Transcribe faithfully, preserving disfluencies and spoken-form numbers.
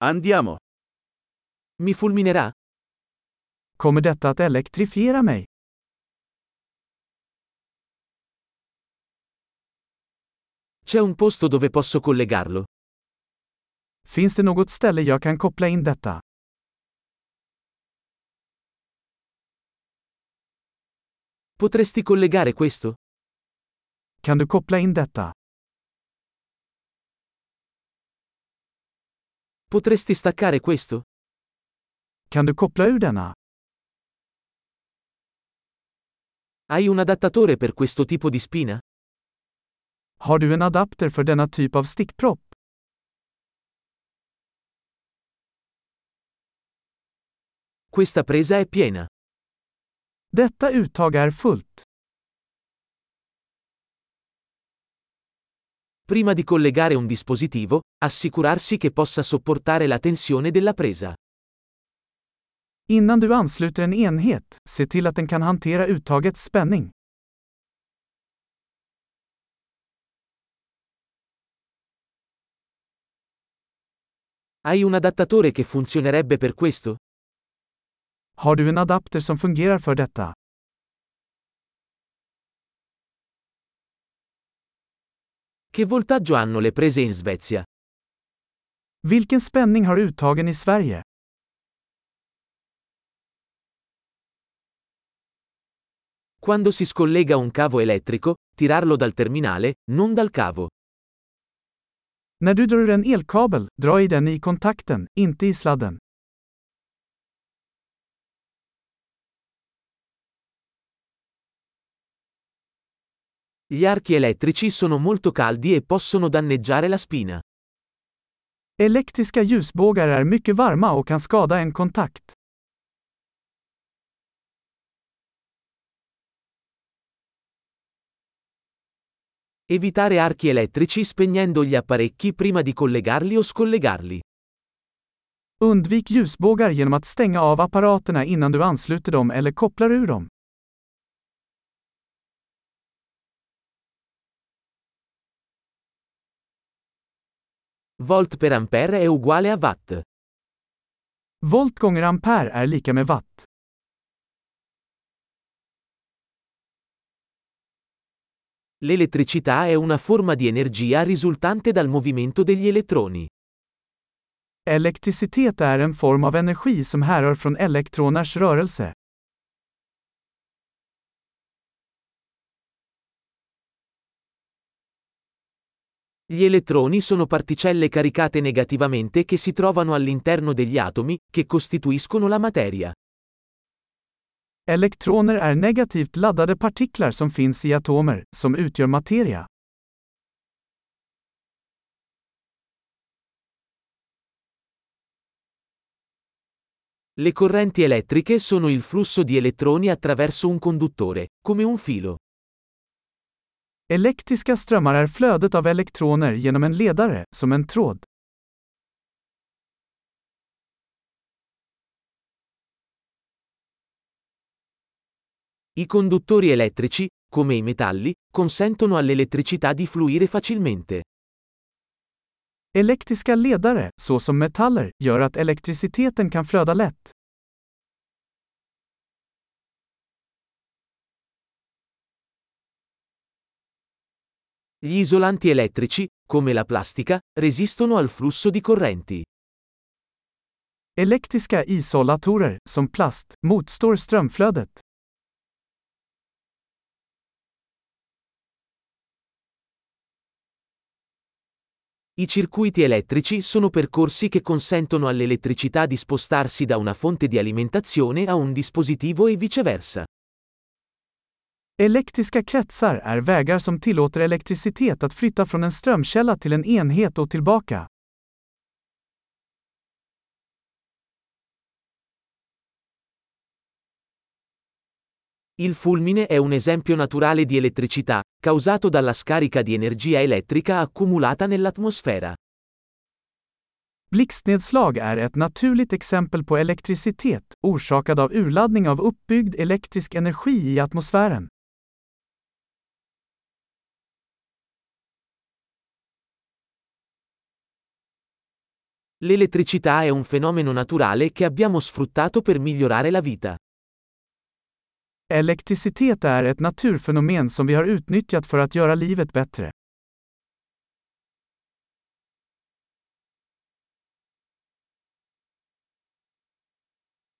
Andiamo. Mi fulminerà? Kommer detta att elektrifiera mig? C'è un posto dove posso collegarlo? Finns det något ställe jag kan koppla in detta? Potresti collegare questo? Kan du koppla in detta? Potresti staccare questo? Kan du koppla ur denna? Hai un adattatore per questo tipo di spina? Har du en adapter för denna typ av stickpropp? Questa presa è piena. Detta uttag är fullt. Prima di collegare un dispositivo, assicurarsi che possa sopportare la tensione della presa. Innan du ansluter en enhet, se till att den kan hantera uttagets spänning. Hai un adattatore che funzionerebbe per questo? Har du en adapter som fungerar för detta? Che voltaggio hanno le prese in Svezia? Vilken spänning har uttagen i Sverige? Quando si scollega un cavo elettrico, tirarlo dal terminale, non dal cavo. När du drar ur en elkabel, dra i den i kontakten, inte i sladden. Gli archi elettrici sono molto caldi e possono danneggiare la spina. Elektriska ljusbågar är mycket varma och kan skada en kontakt. Evitare archi elettrici spegnendo gli apparecchi prima di collegarli o scollegarli. Undvik ljusbågar genom att stänga av apparaterna innan du ansluter dem eller kopplar ur dem. Volt per ampere è uguale a watt. Volt gånger ampere är lika med watt. L'elettricità è una forma di energia risultante dal movimento degli elettroni. Elektricitet är en form av energi som härrör från elektroners rörelse. Gli elettroni sono particelle caricate negativamente che si trovano all'interno degli atomi, che costituiscono la materia. Elektroner är negativt laddade partiklar som finns i atomer, som utgör materia. Le correnti elettriche sono il flusso di elettroni attraverso un conduttore, come un filo. Elektriska strömmar är flödet av elektroner genom en ledare, som en tråd. I conduttori elettrici, come i metalli, consentono all'elettricità di fluire facilmente. Elektriska ledare, såsom metaller, gör att elektriciteten kan flöda lätt. Gli isolanti elettrici, come la plastica, resistono al flusso di correnti. Elektriska isolatorer, som plast, motstår strömflödet. I circuiti elettrici sono percorsi che consentono all'elettricità di spostarsi da una fonte di alimentazione a un dispositivo e viceversa. Elektriska kretsar är vägar som tillåter elektricitet att flytta från en strömkälla till en enhet och tillbaka. Il fulmine è un esempio naturale di elettricità, causato dalla scarica di energia elettrica accumulata nell'atmosfera. Blixtnedslag är ett naturligt exempel på elektricitet, orsakad av urladdning av uppbyggd elektrisk energi i atmosfären. L'elettricità è un fenomeno naturale che abbiamo sfruttato per migliorare la vita. Elektricitet är ett naturfenomen som vi har utnyttjat för att göra livet bättre.